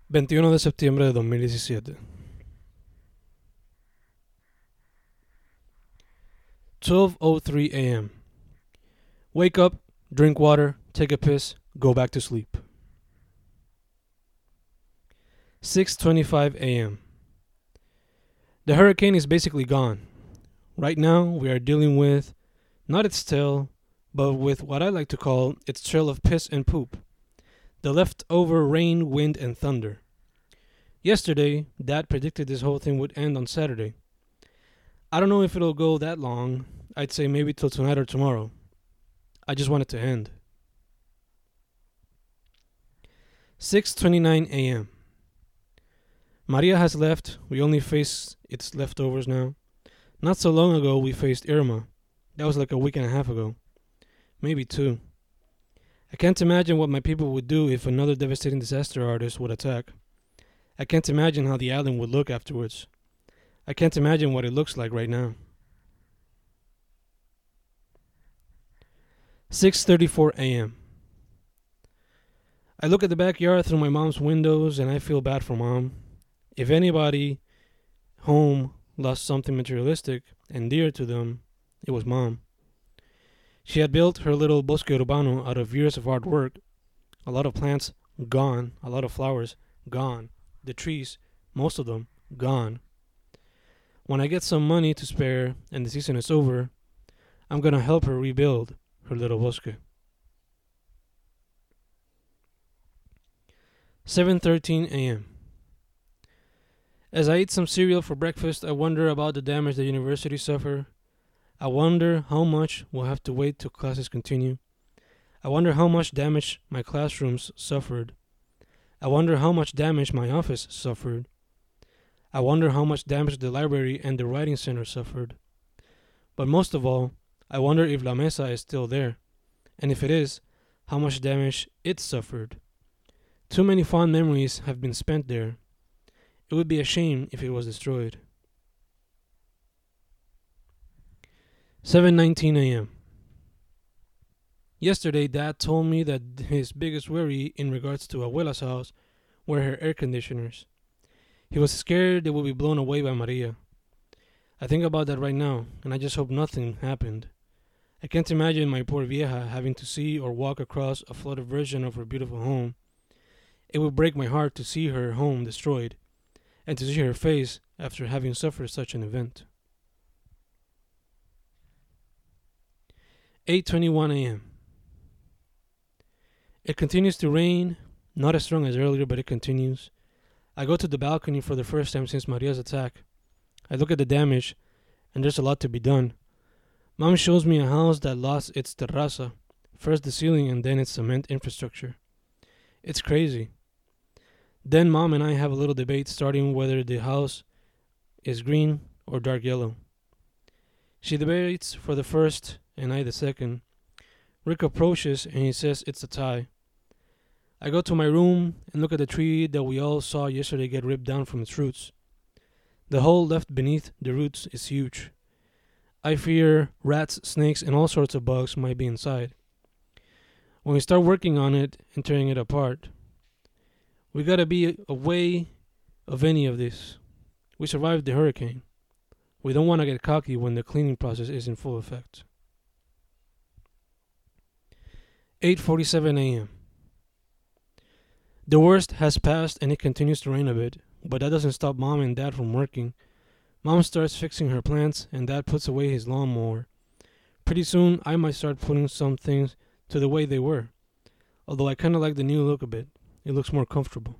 21 de septiembre de 2017. 12:03 a.m. Wake up, drink water, take a piss, go back to sleep. 6:25 a.m. The hurricane is basically gone. Right now, we are dealing with not its tail, but with what I like to call its trail of piss and poop. The leftover rain, wind, and thunder. Yesterday, Dad predicted this whole thing would end on Saturday. I don't know if it'll go that long. I'd say maybe till tonight or tomorrow. I just want it to end. 6:29 a.m. Maria has left. We only face its leftovers now. Not so long ago, we faced Irma. That was like a week and a half ago. Maybe two. I can't imagine what my people would do if another devastating disaster artist would attack. I can't imagine how the island would look afterwards. I can't imagine what it looks like right now. 6:34 a.m. I look at the backyard through my mom's windows and I feel bad for Mom. If anybody home lost something materialistic and dear to them, it was Mom. She had built her little bosque urbano out of years of hard work. A lot of plants gone, a lot of flowers gone, the trees, most of them, gone. When I get some money to spare and the season is over, I'm gonna help her rebuild her little bosque. 7:13 a.m. As I eat some cereal for breakfast, I wonder about the damage the university suffered. I wonder how much we'll have to wait till classes continue. I wonder how much damage my classrooms suffered. I wonder how much damage my office suffered. I wonder how much damage the library and the writing center suffered. But most of all, I wonder if La Mesa is still there, and if it is, how much damage it suffered. Too many fond memories have been spent there. It would be a shame if it was destroyed. 7:19 a.m. Yesterday, Dad told me that his biggest worry in regards to Abuela's house were her air conditioners. He was scared they would be blown away by Maria. I think about that right now, and I just hope nothing happened. I can't imagine my poor vieja having to see or walk across a flooded version of her beautiful home. It would break my heart to see her home destroyed, and to see her face after having suffered such an event. 8:21 a.m. It continues to rain, not as strong as earlier, but it continues. I go to the balcony for the first time since Maria's attack. I look at the damage, and there's a lot to be done. Mom shows me a house that lost its terraza, first the ceiling and then its cement infrastructure. It's crazy. Then Mom and I have a little debate starting whether the house is green or dark yellow. She debates for the first and I the second. Rick approaches and he says it's a tie. I go to my room and look at the tree that we all saw yesterday get ripped down from its roots. The hole left beneath the roots is huge. I fear rats, snakes, and all sorts of bugs might be inside. When we start working on it and tearing it apart, we gotta be away of any of this. We survived the hurricane. We don't want to get cocky when the cleaning process is in full effect. 8:47 a.m. The worst has passed and it continues to rain a bit, but that doesn't stop Mom and Dad from working. Mom starts fixing her plants and Dad puts away his lawnmower. Pretty soon I might start putting some things to the way they were, although I kinda like the new look a bit. It looks more comfortable.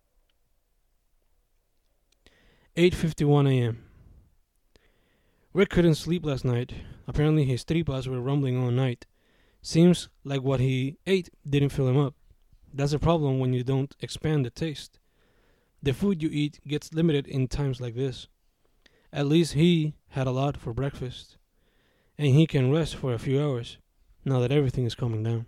8:51 a.m. Rick couldn't sleep last night. Apparently his tripas were rumbling all night. Seems like what he ate didn't fill him up. That's a problem when you don't expand the taste. The food you eat gets limited in times like this. At least he had a lot for breakfast, and he can rest for a few hours now that everything is calming down.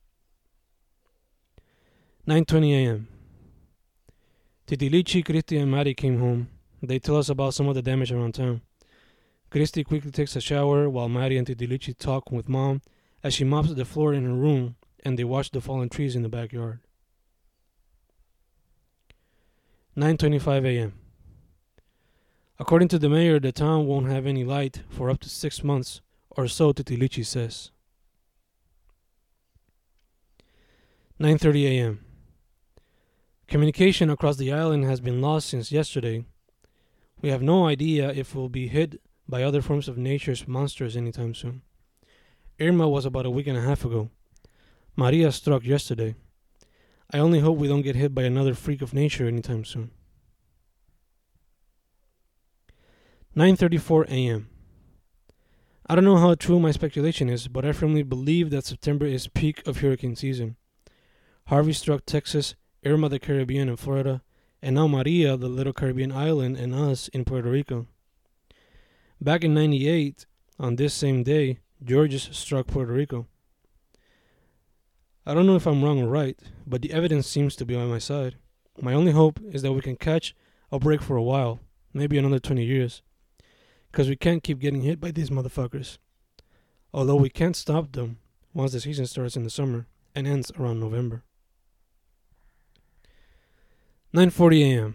9:20 a.m. Titilichi, Christy, and Maddie came home. They tell us about some of the damage around town. Christy quickly takes a shower while Maddie and Titilichi talk with Mom as she mops the floor in her room and they watch the fallen trees in the backyard. 9:25 a.m. According to the mayor, the town won't have any light for up to 6 months, or so Titilichi says. 9:30 a.m. Communication across the island has been lost since yesterday. We have no idea if we'll be hit by other forms of nature's monsters anytime soon. Irma was about a week and a half ago. Maria struck yesterday. I only hope we don't get hit by another freak of nature anytime soon. 9:34 a.m. I don't know how true my speculation is, but I firmly believe that September is peak of hurricane season. Harvey struck Texas, Irma the Caribbean and Florida, and now Maria the little Caribbean island and us in Puerto Rico. Back in 98, on this same day, Georges struck Puerto Rico. I don't know if I'm wrong or right, but the evidence seems to be on my side. My only hope is that we can catch a break for a while, maybe another 20 years. Because we can't keep getting hit by these motherfuckers. Although we can't stop them once the season starts in the summer and ends around November. 9:40 a.m.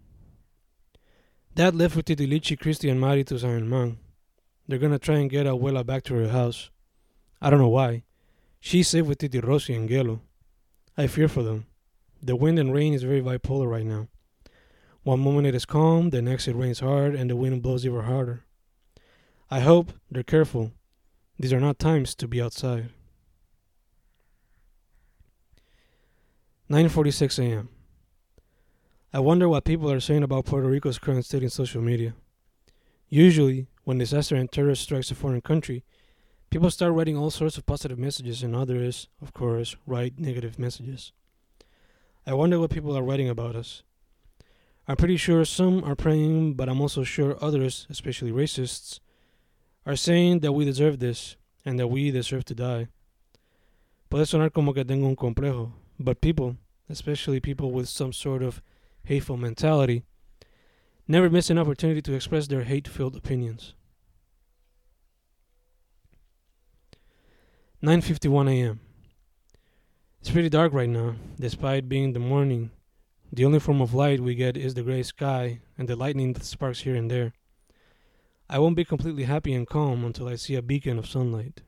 Dad left with Titilichi, Christy, and Mari to San Germán. They're gonna try and get Abuela back to her house. I don't know why. She's safe with Titi Rossi and Gelo. I fear for them. The wind and rain is very bipolar right now. One moment it is calm, the next it rains hard, and the wind blows even harder. I hope they're careful. These are not times to be outside. 9:46 a.m. I wonder what people are saying about Puerto Rico's current state in social media. Usually, when disaster and terror strikes a foreign country, people start writing all sorts of positive messages and others, of course, write negative messages. I wonder what people are writing about us. I'm pretty sure some are praying, but I'm also sure others, especially racists, are saying that we deserve this and that we deserve to die. Puede sonar como que tengo un complejo, but people, especially people with some sort of hateful mentality, never miss an opportunity to express their hate-filled opinions. 9:51 a.m. It's pretty dark right now, despite being the morning. The only form of light we get is the gray sky and the lightning that sparks here and there. I won't be completely happy and calm until I see a beacon of sunlight.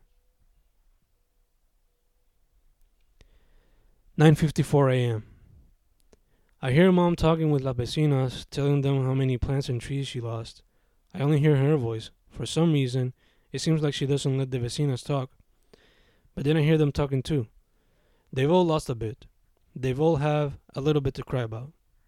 9:54 a.m. I hear Mom talking with las vecinas, telling them how many plants and trees she lost. I only hear her voice. For some reason, it seems like she doesn't let the vecinas talk. But then I hear them talking too. They've all lost a bit. They've all have a little bit to cry about.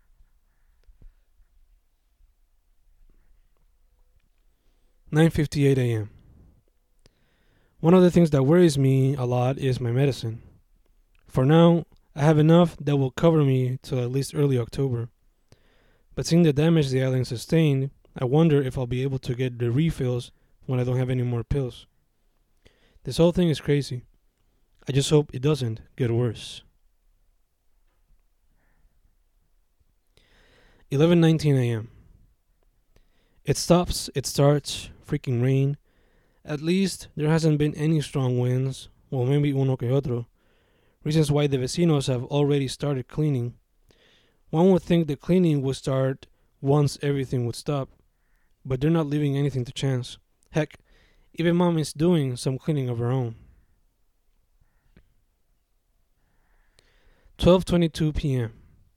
9:58 a.m. One of the things that worries me a lot is my medicine. For now, I have enough that will cover me till at least early October. But seeing the damage the island sustained, I wonder if I'll be able to get the refills when I don't have any more pills. This whole thing is crazy. I just hope it doesn't get worse. 11:19 a.m. It stops, it starts, freaking rain. At least there hasn't been any strong winds, well maybe uno que otro. Reasons why the vecinos have already started cleaning. One would think the cleaning would start once everything would stop, but they're not leaving anything to chance. Heck, even Mom is doing some cleaning of her own. 12:22 p.m.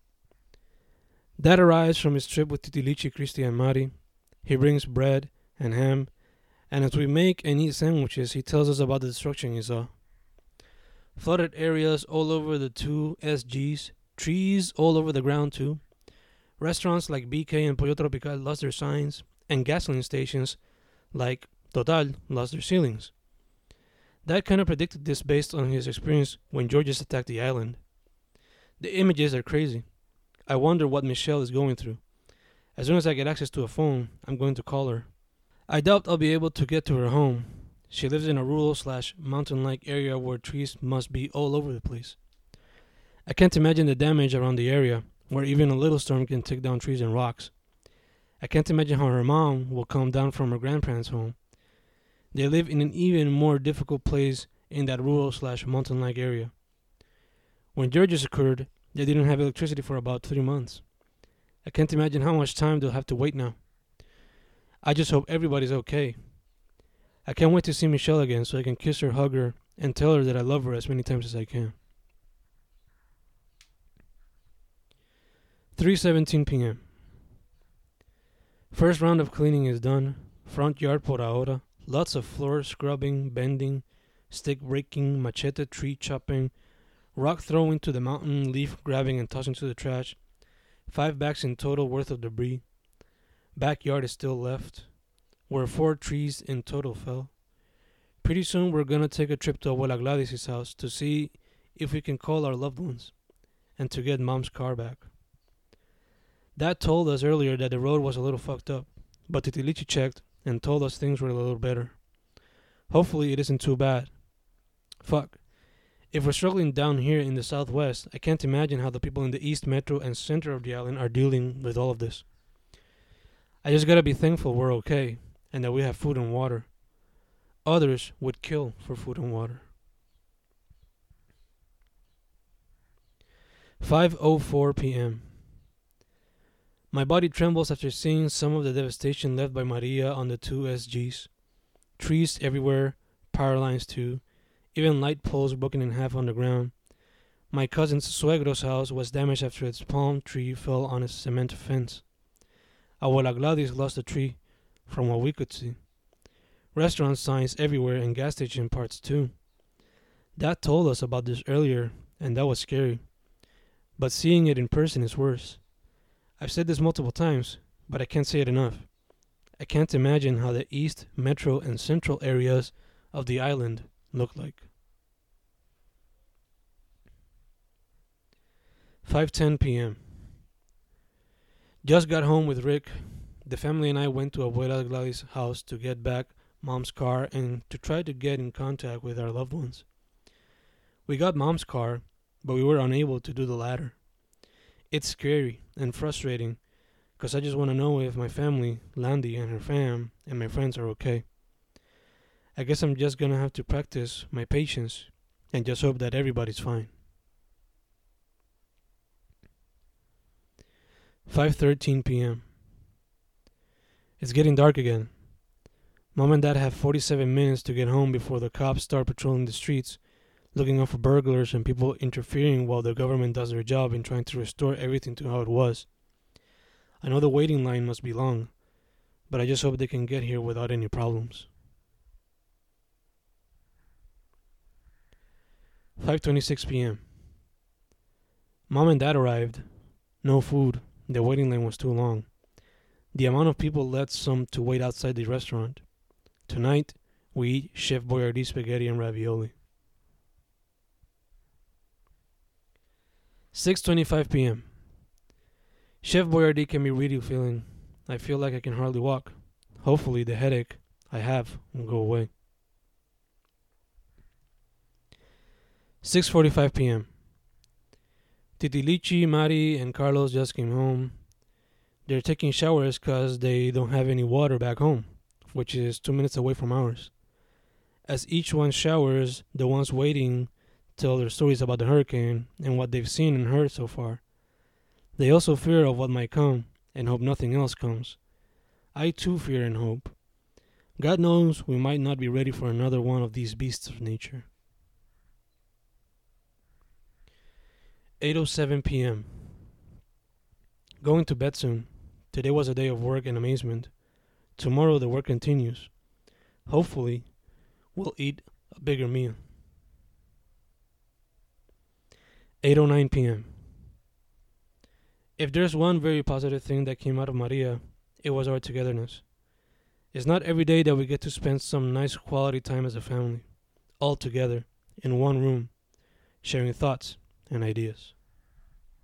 Dad arrives from his trip with Titilichi, Christy, and Mari. He brings bread and ham, and as we make and eat sandwiches, he tells us about the destruction he saw. Flooded areas all over the two SGs, trees all over the ground too. Restaurants like BK and Pollo Tropical lost their signs, and gasoline stations like Total lost their ceilings. Dad kind of predicted this based on his experience when Georges attacked the island. The images are crazy. I wonder what Michelle is going through. As soon as I get access to a phone, I'm going to call her. I doubt I'll be able to get to her home. She lives in a rural/mountain-like area where trees must be all over the place. I can't imagine the damage around the area, where even a little storm can take down trees and rocks. I can't imagine how her mom will come down from her grandparents' home. They live in an even more difficult place in that rural/mountain-like area. When Georges occurred, they didn't have electricity for about 3 months. I can't imagine how much time they'll have to wait now. I just hope everybody's okay. I can't wait to see Michelle again so I can kiss her, hug her, and tell her that I love her as many times as I can. 3:17 p.m. First round of cleaning is done. Front yard por ahora. Lots of floor scrubbing, bending, stick breaking, machete tree chopping, rock throwing to the mountain, leaf grabbing and tossing to the trash. 5 bags in total worth of debris. Backyard is still left, where 4 trees in total fell. Pretty soon we're gonna take a trip to Abuela Gladys' house to see if we can call our loved ones and to get Mom's car back. Dad told us earlier that the road was a little fucked up, but Titilichi checked and told us things were a little better. Hopefully it isn't too bad. Fuck. If we're struggling down here in the southwest, I can't imagine how the people in the east metro and center of the island are dealing with all of this. I just gotta be thankful we're okay and that we have food and water. Others would kill for food and water. 5:04 p.m. My body trembles after seeing some of the devastation left by Maria on the 2 SGs. Trees everywhere, power lines too, even light poles broken in half on the ground. My cousin's suegro's house was damaged after its palm tree fell on its cement fence. Abuela Gladys lost a tree, from what we could see. Restaurant signs everywhere and gas station parts too. Dad told us about this earlier, and that was scary. But seeing it in person is worse. I've said this multiple times, but I can't say it enough. I can't imagine how the east, metro, and central areas of the island look like. 5:10 p.m. Just got home with Rick. The family and I went to Abuela Gladys' house to get back Mom's car and to try to get in contact with our loved ones. We got Mom's car, but we were unable to do the latter. It's scary and frustrating because I just want to know if my family, Landy and her fam, and my friends are okay. I guess I'm just going to have to practice my patience and just hope that everybody's fine. 5:13 p.m. It's getting dark again. Mom and Dad have 47 minutes to get home before the cops start patrolling the streets, looking out for burglars and people interfering while the government does their job in trying to restore everything to how it was. I know the waiting line must be long, but I just hope they can get here without any problems. 5:26 p.m. Mom and Dad arrived. No food. The waiting line was too long. The amount of people led some to wait outside the restaurant. Tonight, we eat Chef Boyardee spaghetti and ravioli. 6:25 p.m. Chef Boyardee can be really filling. I feel like I can hardly walk. Hopefully the headache I have will go away. 6:45 p.m. Titilichi, Mari, and Carlos just came home. They're taking showers because they don't have any water back home, which is 2 minutes away from ours. As each one showers, the ones waiting tell their stories about the hurricane and what they've seen and heard so far. They also fear of what might come and hope nothing else comes. I too fear and hope. God knows we might not be ready for another one of these beasts of nature. 8:07 p.m. Going to bed soon. Today was a day of work and amazement. Tomorrow the work continues. Hopefully, we'll eat a bigger meal. 8:09 p.m. If there's one very positive thing that came out of Maria, it was our togetherness. It's not every day that we get to spend some nice quality time as a family, all together, in one room, sharing thoughts and ideas.